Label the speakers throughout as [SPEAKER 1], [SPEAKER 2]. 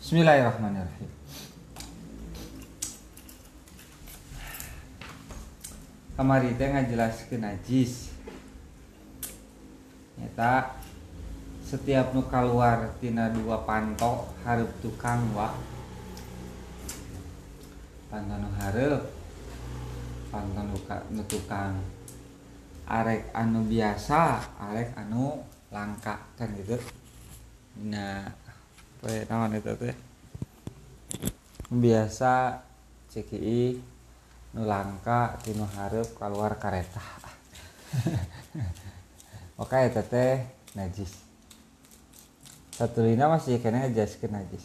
[SPEAKER 1] Bismillahirrahmanirrahim. Kamari teh ngajelaskeun najis. Nyata setiap nu kaluar tina dua panto hareup tukang wa. Panto nu hareup, panto nu tukang. Arek anu biasa, arek anu langka kan gitu. Nah, poe naon eta teh? Biasa CKI nu langka tinu hareup kaluar kareta. Oke eta teh najis. Satulina masih kena ngajaskeun najis.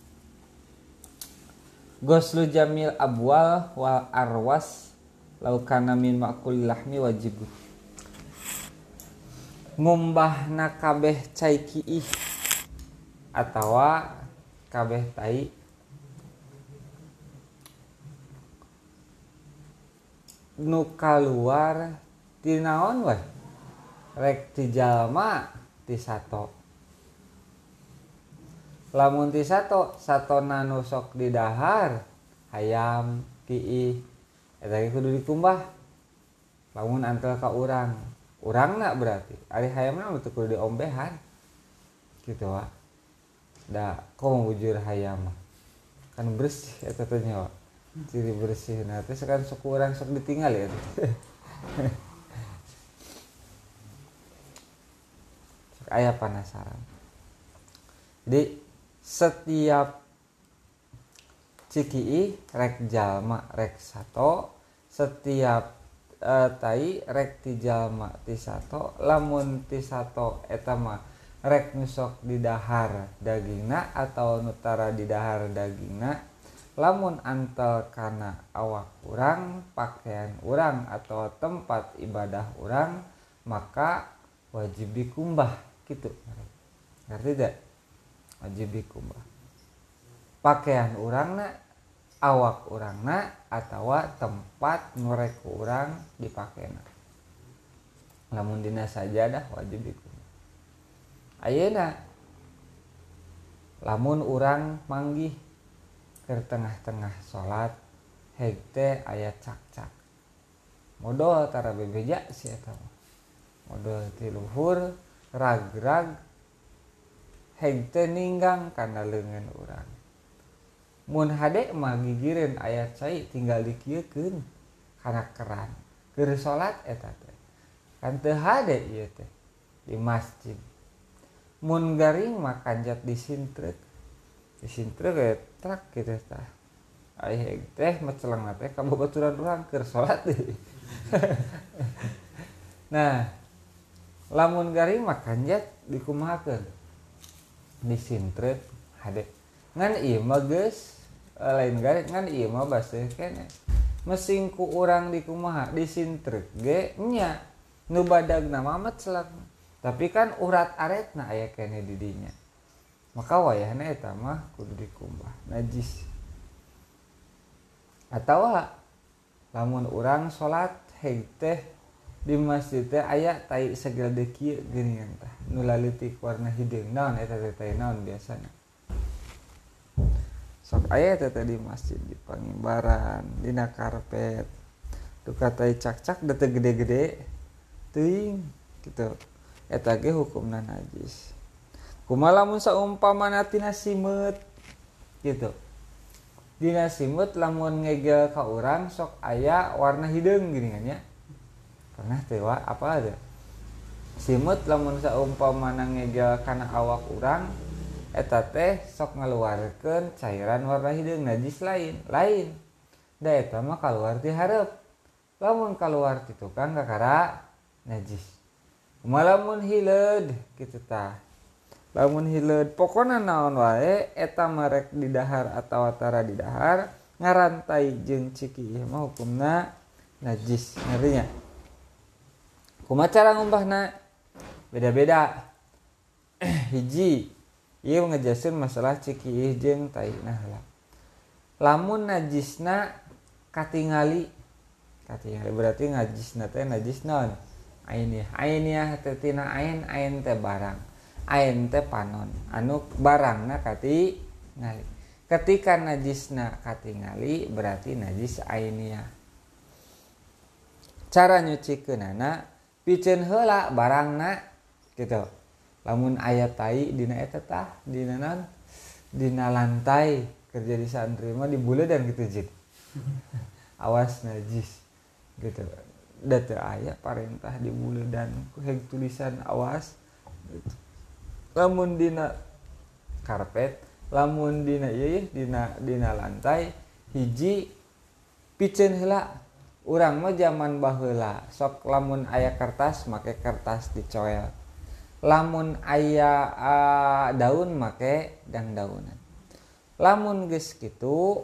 [SPEAKER 1] Ghuslu jamil abwal wal arwas law kana min ma'kul lahmi wajib. Ngumbahna kabeh cai kiih atawa kabeh tai nu kaluar ti naon we rek ti jalma ti sato. Lamun ti sato satona nu sok didahar hayam kiih eta ge kudu dikumbah. Lamun antel ka urangna berarti ari hayamna teu kudu diombehan kitu wa. Da komo bujur hayam kan bersih eta teh nya wa. Ciri bersih nah teh sekarang sok urang sok ditinggal ya. Sok aya penasaran. Jadi setiap cikii rek jalma rek sato, setiap tai rek ti jalma ti sato, lamun ti sato eta mah rek nu sok didahar dagingna atau nu tara didahar dagingna. Lamun antel kana awak urang, pakaian urang atau tempat ibadah urang, maka wajib dikumbah gitu. Ngerti tidak? Wajib dikumbah. Pakaian urangna, awak urangna atawa tempat nu rek urang dipakena. Lamun dina sajadah wajib dikumbah. Ayeuna lamun urang manggih ke tengah-tengah salat heg teh aya cak-cak. Modal tara bebeja si eta mah. Modal ti luhur rag-rag heg teh ninggang kana leungeun urang. Mun hade mah gigireun aya cai tinggal dikieukeun kana keran. Keur salat eta teh. Kan teu hade ieu teh di masjid. Mun garing mah kanjat disintreuk. Disintreuk ge trak kitu tah. Ai teh mecelengna teh ka babaturan urang keur salat deui. Nah, lamun garing mah kanjat dikumahakeun. Disintreuk hade. Ngan ieu mah geus lain garing ngan ieu mah baseuh keneh. Mesing ku urang dikumaha disintreuk ge nya nu badagna mah meceleng. Tapi kan urat aretna aya keneh di dinya. Maka wayahna eta mah kudu dikumbah najis. Atawa lamun urang salat heg teh di masjid teh aya tai sagede kieu geuningan tah nu laleutik warna hideung naon eta teh tai naon biasana. Sok aya eta teh di masjid di pangimbaran dina karpet. Duka tai cak-cak da teu gede-gede teuing kitu. Eta ge hukumna najis. Kumaha lamun saumpamana tina simeut gitu. Dina simeut lamun ngegel ka urang sok aya warna hideung geuningan nya. Pernah teu wa apa ada? Simeut lamun saumpamana ngegel kana awak urang eta teh sok ngaluarkeun cairan warna hideung najis lain. Da eta mah kaluar ti hareup. Lamun kaluar ti tukang kakara najis. Kumaha lamun hileud kitu tah. Lamun hileud pokona naon wae eta marek didahar atawa tara didahar ngarantai jeung ciki mah hukumna najis. Ngartinya kumaha cara ngumbahna beda-beda. Hiji ieu ngajaskeun masalah ciki jeung taina heula. Lamun najisna katingali berarti najisna teh najis naon? Ainiah teh tina ain teh barang. Ain teh panon anu barangna kati ngali. Ketika najisna katingali berarti najis ainiyah. Cara nyucikeunana piceun heula barangna gitu. Lamun aya tai dina eta tah dina naon? Dina lantai kerja di santri mah dibuleudan gitu jid. Awas najis gitu. Da teu aya parentah dibuleudan ku heg tulisan awas gitu. Lamun dina karpet, lamun dina ieu dina lantai hiji piceun heula. Urang mah zaman baheula sok lamun aya kertas make kertas dicoel. Lamun aya daun make dangdaunan. Lamun geus kitu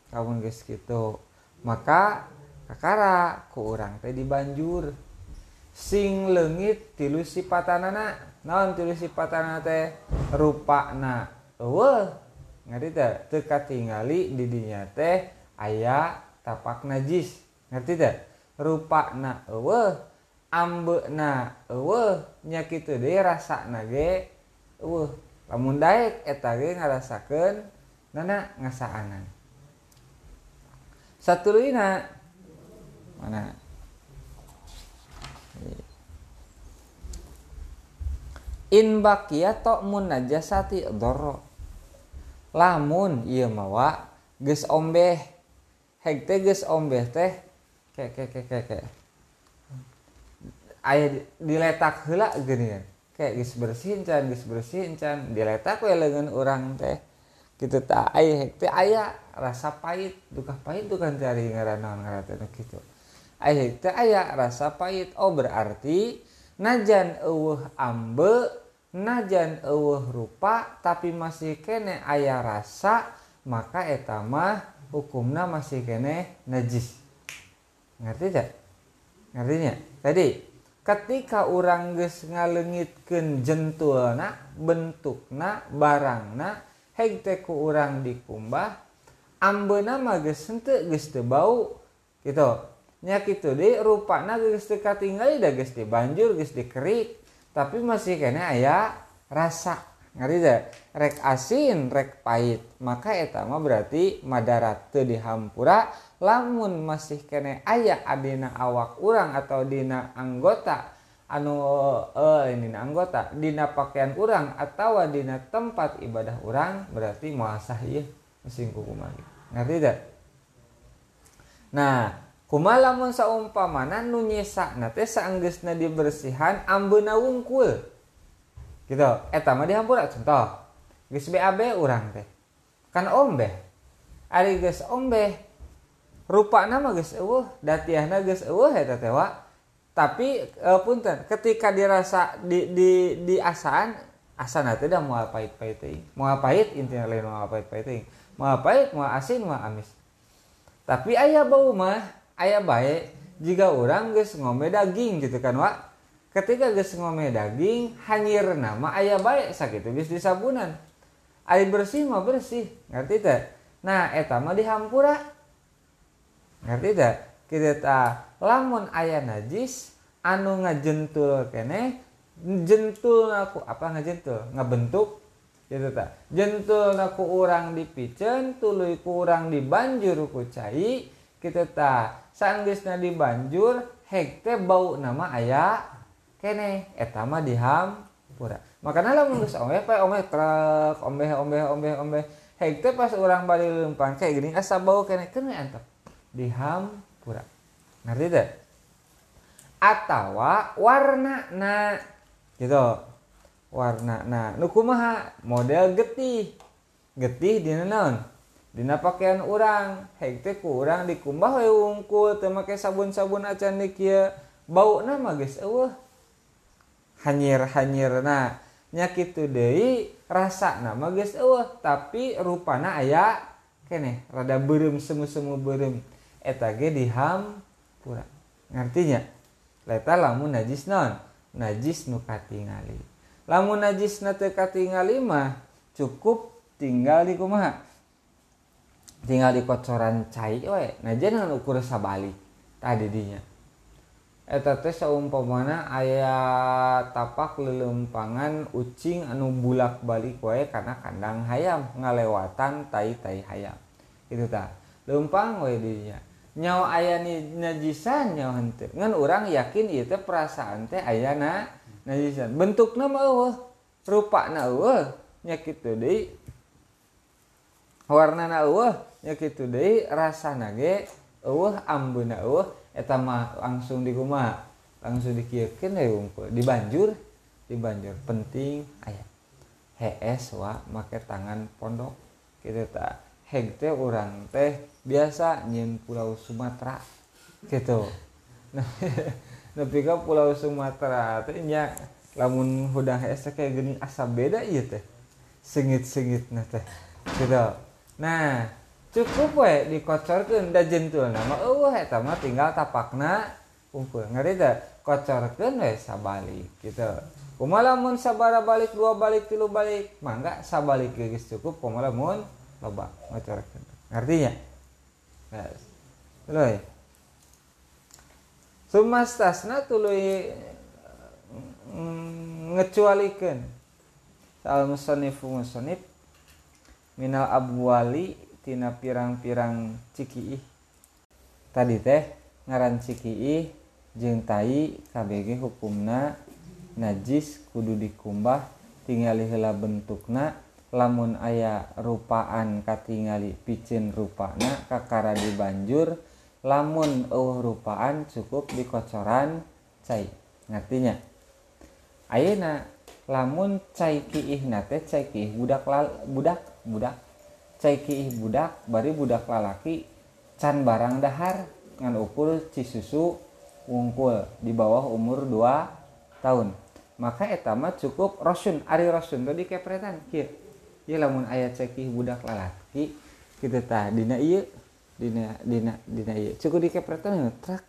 [SPEAKER 1] maka kakara ku urang teh dibanjur sing leungit tilu sipatanana. Naon tilu sipatanana teh? Rupana eueuh. Ngerti teh? Teu katingali di dinya teh aya tapak najis. Ngerti teh? Rupana eueuh, ambeuna eueuh, nya kitu deui rasana ge eueuh. Lamun daek eta ge ngarasakeun nana ngasaanan. Satuluyna mana? In baqiya ta'mun najasati dharra. Lamun ieu mawa geus ombeh. Heg teh geus ombeh teh ke. Aya diletak heula geuningan. Kayak geus bersihin can diletak we leungeun urang teh. Kitu tah aya heg teh aya rasa pahit, duka pahit tuh kan cari ngaran ngaran kitu. Aya heg teh aya rasa pahit. Oh berarti najan eueuh ambe, najan eueuh rupa tapi masih kene aya rasa, maka eta mah hukumna masih kene najis. Ngerti tak? Ngertinya? Tadi ketika urang geus ngaleungitkeun jentulna, bentukna, barangna, heg teh ku urang dikumbah, ambeuna mah geus henteu geus teu bau kitu. Nya kitu deui rupana geus teu katingali da geus dibanjur geus dikerik, tapi masih kene aya rasa. Ngerti teh? Rek asin, rek pahit. Maka eta mah berarti madarat teu dihampura. Lamun masih kene aya adina awak urang atau dina anggota dina pakaian urang atau dina tempat ibadah urang berarti moal sah ieu sing kumaha. Ngerti teh? Nah, kumaha lamun saumpamana nu nyesana teh saenggeusna dibersihan ambeuna wungkul. Gitu. Eta mah dihampura contoh. Geus BAB urang teh. Kan ombeh. Ari geus ombeh rupana mah geus eueuh, datiahna geus eueuh eta teh wa. Tapi punten ketika dirasa di asana teh da moal pahit-pahit teuing. Moal pahit intina lain moal pahit-pahit teuing. Moal pahit, moal asin, moal amis. Tapi aya bau mah, aya bae jika urang geus ngombe daging gitu kan wa. Ketika geus ngombe daging hanyirna mah aya bae sakitu geus disabunan. Ari bersih mah bersih, ngerti teh? Nah, eta mah dihampura. Ngerti teh? Kitu tah lamun aya najis anu ngajentul keneh jentulna ku apa ngajentul? Ngabentuk kitu tah. Jentulna ku urang dipiceun, tuluy ku urang dibanjur ku cai, kitu tah. Saenggeusna dibanjur heg teh bauna mah aya keneh eta mah dihampura. Makana lamun geus ombeh trek ombeh heg teh pas urang bari leumpang kayak gini asa bau keneh keun antep dihampura. Ngerti teh? Atawa warnana gitu. Warnana nu kumaha? Model getih. Getih dina naon? Dina pakaian urang. Heg teh ku urang dikumbah we wungkul teu make sabun-sabun acan di kieu. Bauna mah geus eueuh. Hanyir-hanyirna nya kitu deui rasana mah geus eueuh tapi rupana aya keneh rada beureum semu-semu beureum. Eta ge dihampura. Ngartinya? Eta lamun najis naon? Najis nu katingali. Lamun najisna teu katingali mah cukup tinggal di kumaha? Tinggal di kocoran cai we. Najan ngan ukur sabalik tadi dinya. eta teh saumpamana aya tapak lelempangan ucing anu bulak-balik wae kana kandang hayam ngalewatan tai-tai hayam kitu tah leumpang we dinya nyawa aya najisan nyawa henteu ngan urang yakin ieu teh perasaan teh aya najisan bentukna mah eueuh rupana eueuh nya kitu deui warnana eueuh nya kitu deui rasana ge eueuh ambeuna eueuh eta mah langsung dikumaha langsung dikiekeun we unggul dibanjur penting aya hees wa make tangan pondok kitu tah heg teh urang teh biasa nyieun Pulau Sumatera gitu nepi ka Pulau Sumatera teh nya lamun hudang hees teh kayak geuning asa beda ieu teh seungit-seungitna teh gitu nah cukup we dikocorkeun da jentulna mah eueuh eta mah tinggal tapakna unggul ngari teh kocorkeun we sabalik gitu kumaha lamun sabara balik dua balik tilu balik mangga sabalik geus cukup kumaha lamun loba ngocorkeun ngartinya yes. Tuluy sumastasna tuluy ngecualikeun al musannif minal abwali tina pirang-pirang cikiih tadi teh ngaran cikiih jeung tai KBG hukumna najis kudu dikumbah tingali heula bentukna lamun aya rupaan katingali pikeun rupana kakara dibanjur lamun eueuh rupaan cukup dikocoran cai ngartinya ayeuna lamun cai kiihna teh cai kiih budak cai kiih budak bari budak lalaki can barang dahar ngan ukur cisusu wungkul di bawah umur 2 tahun maka eta mah cukup rosun ari rosun teh dikepretan kieu ieu lamun aya cai kiih budak lalaki kitu tah dina ieu dina ieu cukup dikepretan trak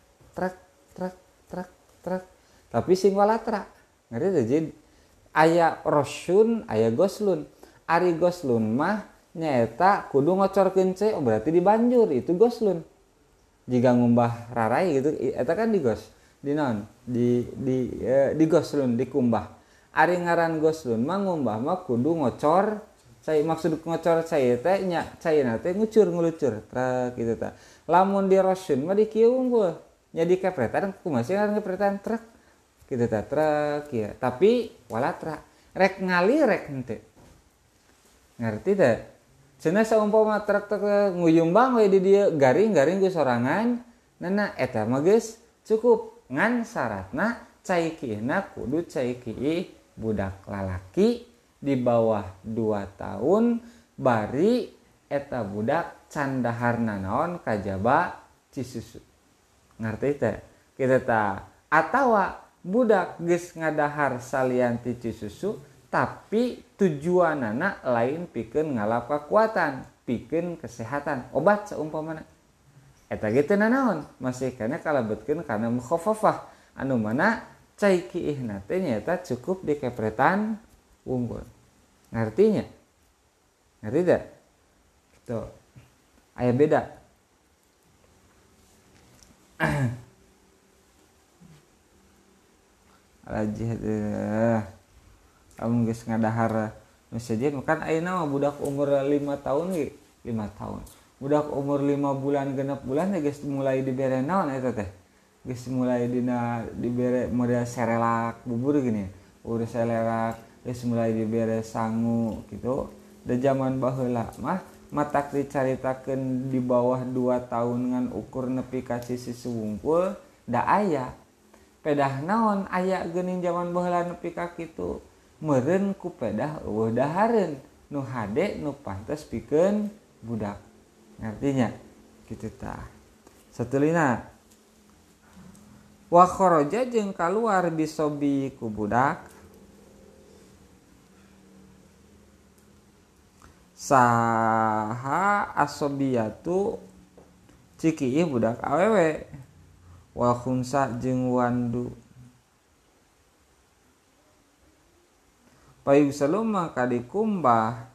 [SPEAKER 1] tapi sing walatra ngari teh jadi aya rosun aya goslun ari goslun mah nyaeta kudu ngocorkeun cai berarti dibanjur itu goslun jika ngumbah rarai gitu eta kan digos di naon di goslun dikumbah ari ngaran goslun mah ngumbah mah kudu ngocor cai maksud ngocor cai teh nya caina teh ngucur trek kitu tah lamun di rosun mah dikieu unggul nya dikepretan kumaha sih ngaran kepretan trek kitu tah trek kieu tapi walatra rek ngali rek henteu ngarti teh cenah saumpama trek nguyumbang we di dieu garing geus sorangan nana eta mah geus cukup ngan syaratna cai kiihna kudu cai kiih budak lalaki di bawah 2 tahun bari eta budak can daharna naon kajaba cisusu ngarti teh kitu tah atawa budak geus ngadahar salian ti cisusu tapi tujuanana lain pikeun ngalap kekuatan pikeun kesehatan obat saumpamana eta ge teu nanaon masih kana kalebetkeun kana mukhaffafah anu mana cai kiihna teh nyaeta cukup dikepretan unggul ngartinya ngerti teh kitu aya beda alajih geus ngadahar nu sejen kan ayeuna mah budak umur 5 tahun ge 5 tahun budak umur 5 bulan 6 bulan geus mulai dibere naon eta teh geus mulai dibere model serelak bubur gini urus serelak geus mulai dibere sangu gitu da zaman baheula mah matak dicaritakeun di bawah 2 tahun ngan ukur nepi ka sisi wungkul da aya pedah naon aya geuning zaman baheula nepi ka kitu meureun ku pedah eueuh dahareun nu hade nu pantes pikeun budak ngartinya kitu tah satulina wa kharaja jeung kaluar bisobi ku budak saha asobiyatu ciki budak awewe wa khunsa jeung wandu payung saluma kadikumbah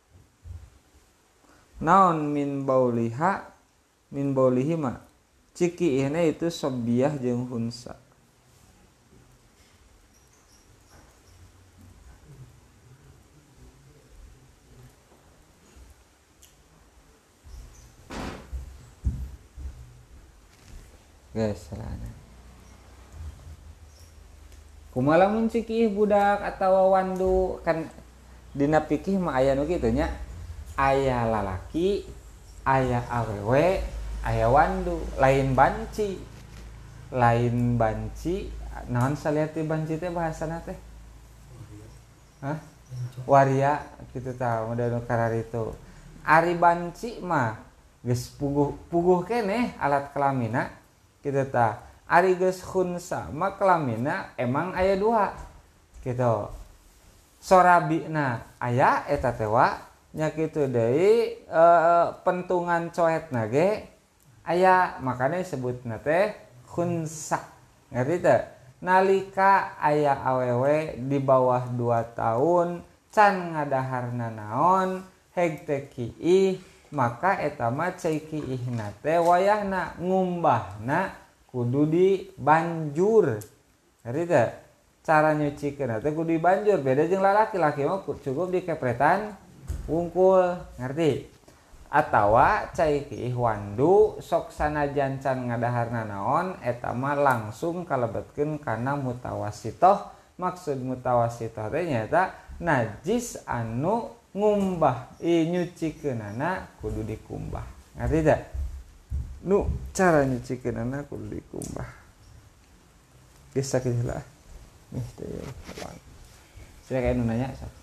[SPEAKER 1] naon min baulihi mah ciki ihna itu sobiyah jeung hunsa guys salahna kumaha lamun cikih budak atawa wandu kan dina pikih mah aya nu kitu nya aya lalaki aya awewe aya wandu lain banci naon saliati banci teh bahasana teh hah waria kitu tah model kararitu ari banci mah geus puguh keneh alat kelamina kitu tah ari geus khunsa mah kelamina emang aya dua gitu sorabina aya eta teh wa nya kitu deui pentungan coetna ge aya makana disebutna teh khunsa ngerti teh nalika aya awewe di bawah 2 tahun can ngadaharna naon heg teh kiih maka eta mah cai kiihna teh wayahna ngumbahna kudu dibanjur ngerti teh cara nyucikeun teh kudu dibanjur beda jeung lalaki mah cukup dikepretan wungkul ngerti atawa cai kiih wandu sok sanajan can ngadaharna naon eta mah langsung kalebetkeun kana mutawasitoh maksud mutawasitoh teh nyaeta najis anu ngumbah nyucikeunana kudu dikumbah ngerti teh nu cara nyucikeunana kudu dikumbah geus sakitu lah nih teh silakan anu nanya sok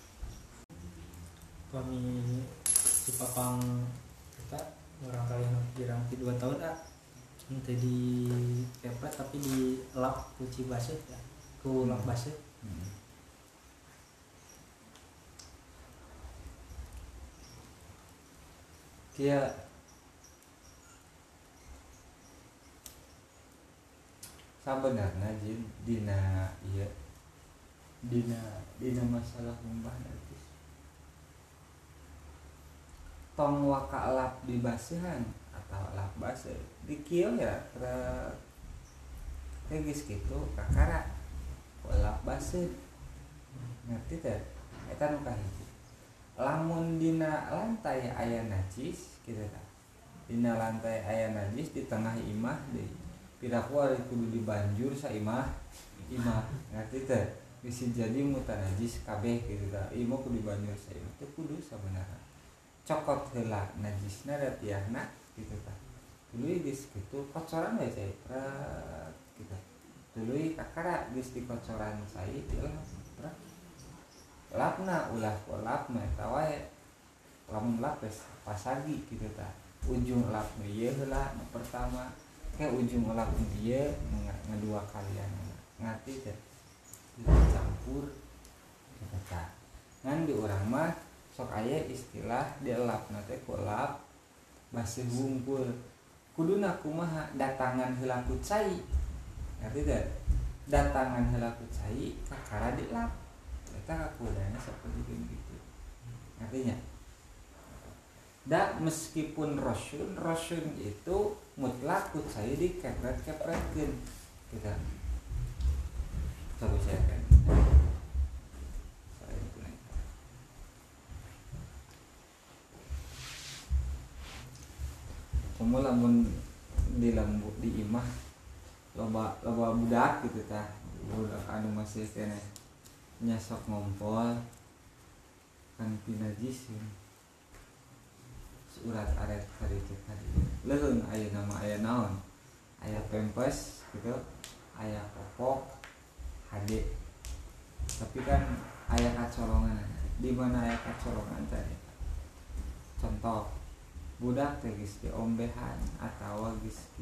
[SPEAKER 2] kami si papang kita orang kali kirang 2 tahun nanti di kepret tapi di lap kuci basuh ya ku lap basuh
[SPEAKER 1] kia sabenerna dina ieu dina masalah ngumbah nanti tong waka lap di basihan atau lap basuh di kieu ya geus kitu kakara lap basuh ngerti teh eta nu kahiji lamun dina lantai aya najis kitu tah dina lantai aya najis di tengah imah deui piraku ari kudu dibanjur saimah imah ngerti teh bisa jadi mutanajis kabeh kitu tah ieu mah kudu dibanjur saimah teh kudu sabenerna cokot heula najisna da tiahna kitu tah tuluy geus kitu kocoran we cai kitu tuluy kakara geus dikocoran sai dilap lapna ulah lap mah eta wae lamun lap geus pasagi kitu tah ujung lap nu ieu heula nu pertama ke ujung lap nu ieu ngadua kalian ngati teh dicampur kitu tah ngan di urang mah sok aya istilah dielapna teh ku lap basuh wungkul kuduna kumaha datangan heula ku cai ngerti teh datangan heula ku cai kakara dilap eta kakudana saperti kitu artinya da meskipun rosyun itu mutlak ku cai dikepret-kepretkeun kita coba saya kan kamu lamun di lembu di imah loba budak gitu tah budak anu masih kene nyasok ngompol kan pinajis surat aret kari leheung aya nama aya naon aya pempes gitu aya popok hade tapi kan aya kacolongan di mana aya kacolongan tadi contoh budak teh geus diombehan atawa geus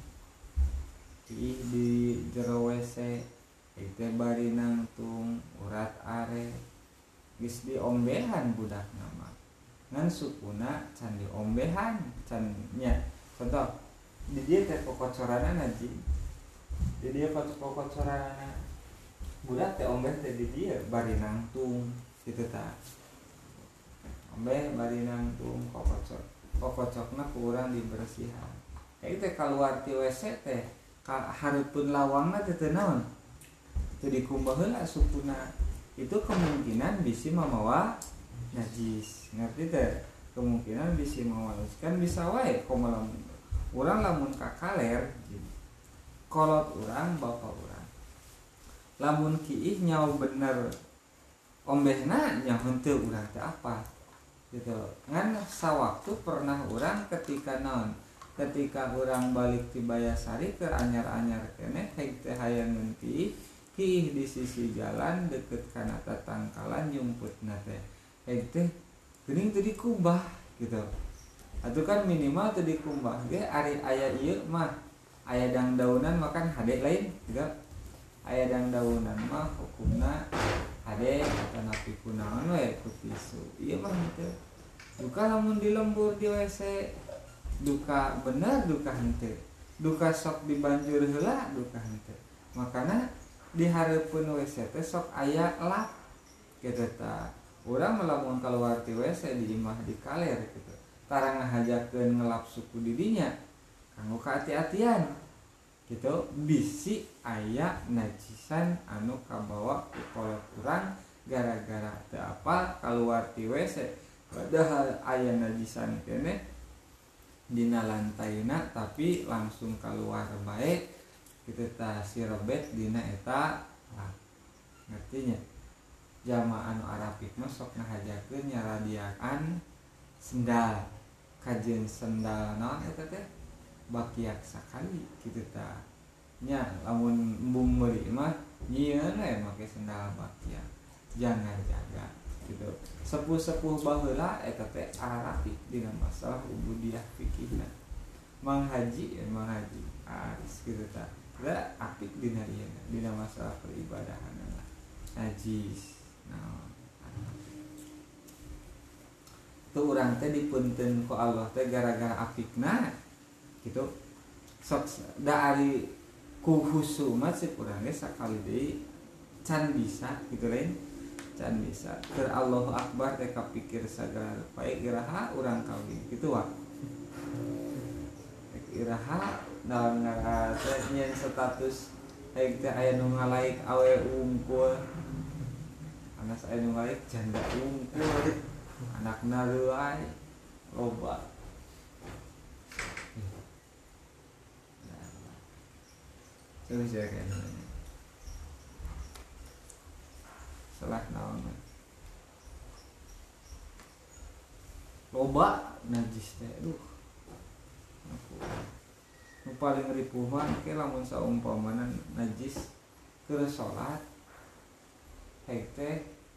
[SPEAKER 1] di jero WC itu bari nangtung urat are geus diombehan budak nama ngan sukuna can diombehan can nya contoh di dieu teh kocoranana ji di dieu kocoranana budak teh ombeh teh di dieu bari nangtung kitu tah ombeh bari nangtung kokocokna kurang dibersihan itu teh kaluar ti WC teh hareupeun lawangna teh teu naon teu dikumbah heula sukuna itu kemungkinan bisi mamawa najis ngerti teh kemungkinan bisi mamawa kan bisa wae komo lamun urang lamun ka kaler kolot urang bapak urang lamun kiih nyau bener ombehna nya henteu urang teh apa gitu ngan sawaktu pernah urang ketika naon ketika urang balik ti Bayasari keur anyar-anyar keneh heg teh hayangeun kiih di sisi jalan deket kana tatangkalan nyumputna teh heg teh geuning teu dikumbah gitu atuh kan minimal teu dikumbah ge ari aya ieu mah aya dangdaunan makan hade lain gitu aya dangdaunan mah hukumna hade atau napi kunaon we ku tisu ieu mah teu duka lamun di lembur di WC duka bener duka henteu duka sok dibanjur heula duka henteu makana dihareupeun WC teh sok aya lap kitu tah urang lamun kaluar ti WC di imah di kaler kitu tarang ngahajakeun ngelap suku didinya kanggo kahati-hatian gitu bisi aya najisan anu kabawa ku kolot urang gara-gara teu apal kaluar ti WC padahal aya najisan keneh dina lantaina tapi langsung keluar baik kitu tah sirebet dina eta ngertinya jamaah anu arapik mah sok ngahajakeun nyaradiaan sendal kajeun sendal naon eta teh bakiak sakali kitu tah nya lamun embung meuli mah nyieun we make sendal bakiak jangan jaga gitu sepuh-sepuh baheula eta teh arapik dina masalah ubudiyah fikihna Mang Haji kitu tah da apik dina ieu dina masalah peribadahan najis naon tuh urang teh dipunten ku Allah teh gara-gara apikna gitu sok da ari ku husu mah cek urang ge sakali deui can bisa gitu lain can bisa keur Allahu Akbar teh kapikir sagala rupa iraha urang kawin kitu wa iraha naon ngaran teh nyen status haig teh aya nu ngalaik awe ungkul anas aya nu ngalaik janda ungkul anakna reuay loba terus ya kayaknya salah naon loba najis teh aduh nu paling ripuh mah ke lamun saumpamana najis keur salat heg teh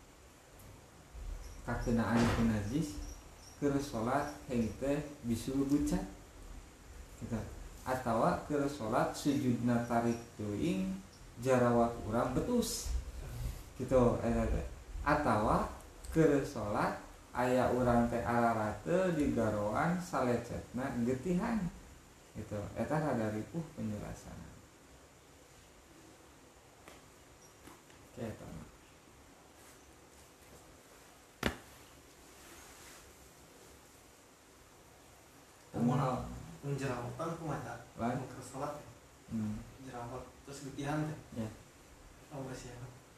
[SPEAKER 1] kakenaan ku najis keur salat heg teh bisul bucat gitu atawa keur salat sujudna tarik teuing jarawat urang betus gitu eta teh atawa keur salat aya urang teh ararate di garoan salecetna geutihan gitu eta rada ripuh penjelasanna eta mah
[SPEAKER 3] jerawatan kumaha
[SPEAKER 1] lain
[SPEAKER 3] ke salat jerawat terus geutihan teh
[SPEAKER 1] ya
[SPEAKER 3] oh sia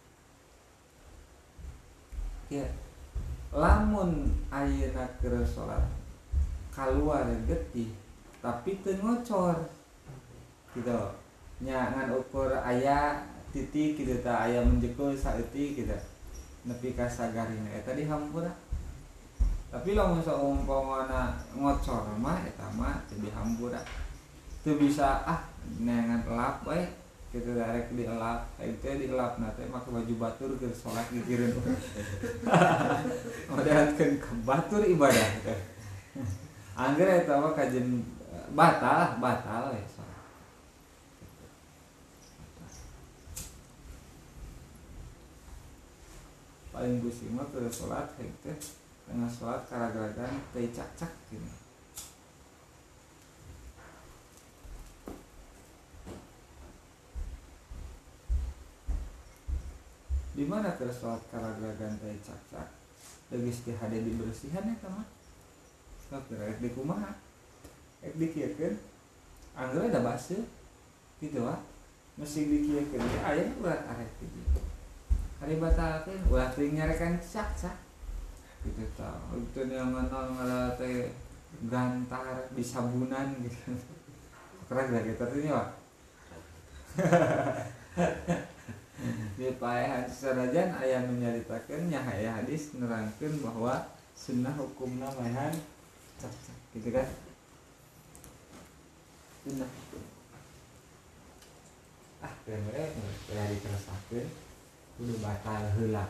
[SPEAKER 1] ya lamun ayeuna keur salat kaluar getih tapi teu ngocor gitu nya ngan ukur aya titik kitu tah aya menjekul saeutik kitu nepi ka sagarina eta dihampura tapi lamun saumpamana ngocor mah eta mah teu dihampura teu bisa nengan elap we kitu darek dielap teh dielapna teh make baju batur keur salat gigireun modelatkeun ka batur ibadah teh angger eta mah kajen batal we salat paling pusing mah keur salat heg teh tengah salat karagagan teh cak-cak gini di mana keur salat karagagan teh cak-cak geus teh hade dibersihan eta mah sakira rek di kumaha rek dikieukeun angger da baseuh kitu wa mesti dikieukeun teh aya urat arek kitu hari batalkeun ulah teuing nyarekan cak-cak gitu tah itu nyaman ngara teh gantar di sabunan gitu keren gak gitu teh wa di paehan sanajan aya nu nyaritakeun nya aya hadis nerangkeun bahwa sunnah hukumna maehan cak-cak gitu kan. Sunnah hukum bener ya diterusakeun kudu batal heula.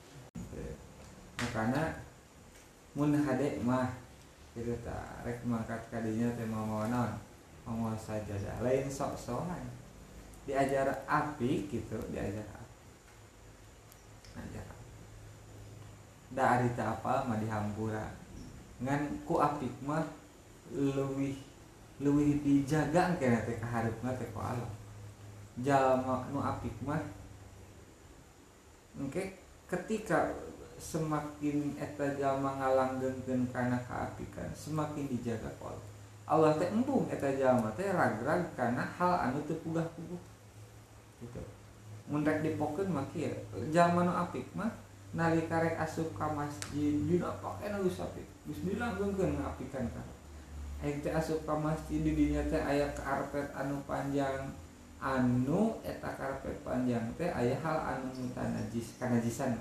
[SPEAKER 1] Makana mun hade mah kitu tah rek mangkat kadinya teh mau naon mau sajadah lain sok-sokan diajar api gitu diajar api ajar da arita apa mah dihampura ngan ku apik mah leuwih dijaga kana teh kaharepna teh ku Allah jalma nu apik mah engke ketika semakin eta jalma ngalanggengkeun kana kaapikan semakin dijaga ku Allah. Allah teh embung eta jalma teh ragrag kana hal anu teu pugah-puguh gitu. Mun rek dipokeun mah kieu jalma nu apik mah nalika rek asup ka masjid dina pakaian geus apik geus dilanggengkeun ngaapikan ka. Aing teh asup ka masjid di dinya teh aya karpet anu panjang anu eta karpet panjang teh aya hal anu mutanajis kanajisan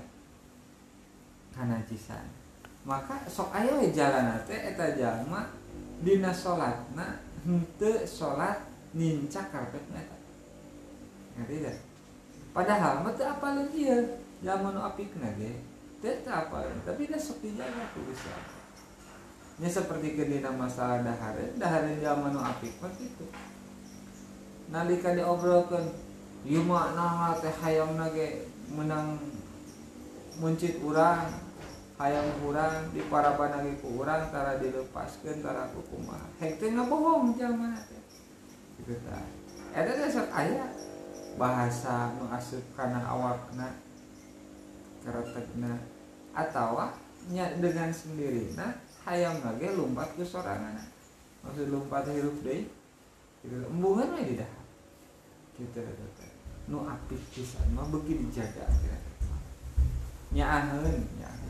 [SPEAKER 1] maka sok aya we jalanna teh eta jalma dina salatna henteu salat nincak karpetna eta ngerti teh padahal mah teu apaleun ieu jalma nu apikna ge teu apaleun tapi da sok dijaga ku Gusti Allah nya sapertikeun dina masalah dahareun jalma nu apik mah kitu nalika diobrolkeun ieu mah naon teh hayangna ge menang muncit urang hayang urang diparaban lagi ku urang tara dilepaskeun tara ku kumaha hek teh ngabohong jalma teh kitu tah eta teh sok aya bahasa nu asup kana awakna karetegna atawa nya dengan sendirina hayang ge lumpat ku soranganna maksud lumpat hirup deui kitu embungan we di dahar kitu teh nu apik pisan mah beuki dijaga nyaaheun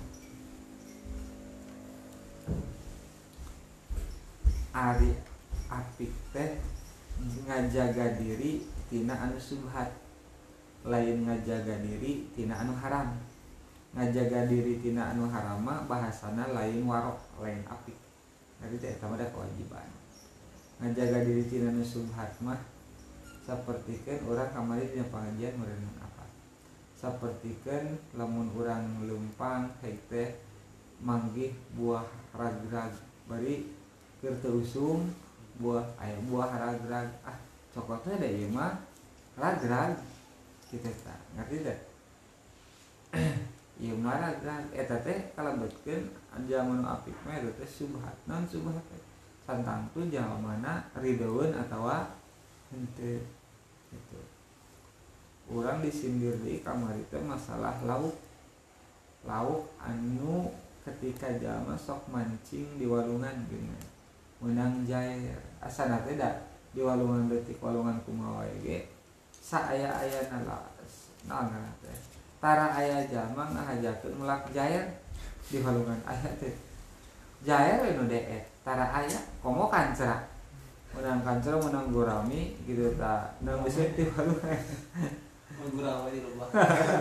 [SPEAKER 1] ari apik teh ngajaga diri tina anu subhat lain ngajaga diri tina anu haram ngajaga diri tina anu haram mah bahasana lain warok lain apik jadi teh eta mah kewajiban ngajaga diri tina anu subhat mah sapertikeun urang kamari dina pangajian meureun apa sapertikeun lamun urang leumpang hek teh manggih buah ragrag bari keur teu usum buah ragrag coklatnya da ieu mah ragrag kitu tah ngerti teh ieu mah ragrag eta teh kalebetkeun jalma nu apik mah eta teh subhat naon subhat teh santangtu jalmana ridoeun atawa henteu gitu. Urang disindir deui kamari teh masalah lauk anu ketika jalma sok mancing di walungan geuning meunang jair asana teh da di walungan leutik walungan kumaha wae ge saaya-ayana naon teh tara aya jalma ngahajakeun melak jair di walungan aya teh jair we nu deet tara aya komo kancra menang kancra menang gurami gitu tah nang geus di walungan
[SPEAKER 3] gurami di lobah.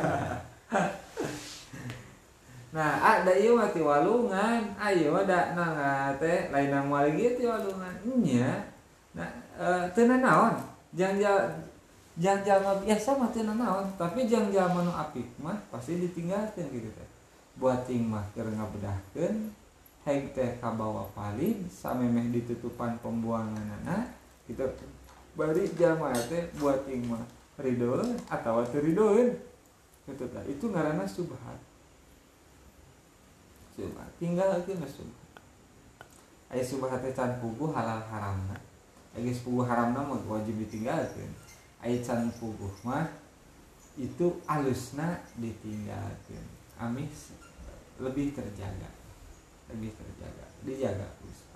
[SPEAKER 1] Nah, ada ieu mah ti walungan, ayeuna mah da nang teh lain nang moal ge ti walungan. Nya. Nah, teu nanaon. Jang jalma biasa mah teu nanaon, tapi jang jalma nu apik mah pasti ditinggalkeun kitu teh. Buat ting mah keur ngabedahkeun, heg teh kabawa palin samemeh ditutupan pembuanganna kitu. Bari jalma teh buat ting mah ridoeun atawa teu ridoeun. Kitu teh. Itu ngaranna subhat. Tinggal ke subhat aya subhat teh can puguh halal haramna aya puguh haramna mah wajib ditinggalkeun aya can puguh mah itu alusna ditinggalkeun amis lebih terjaga dijaga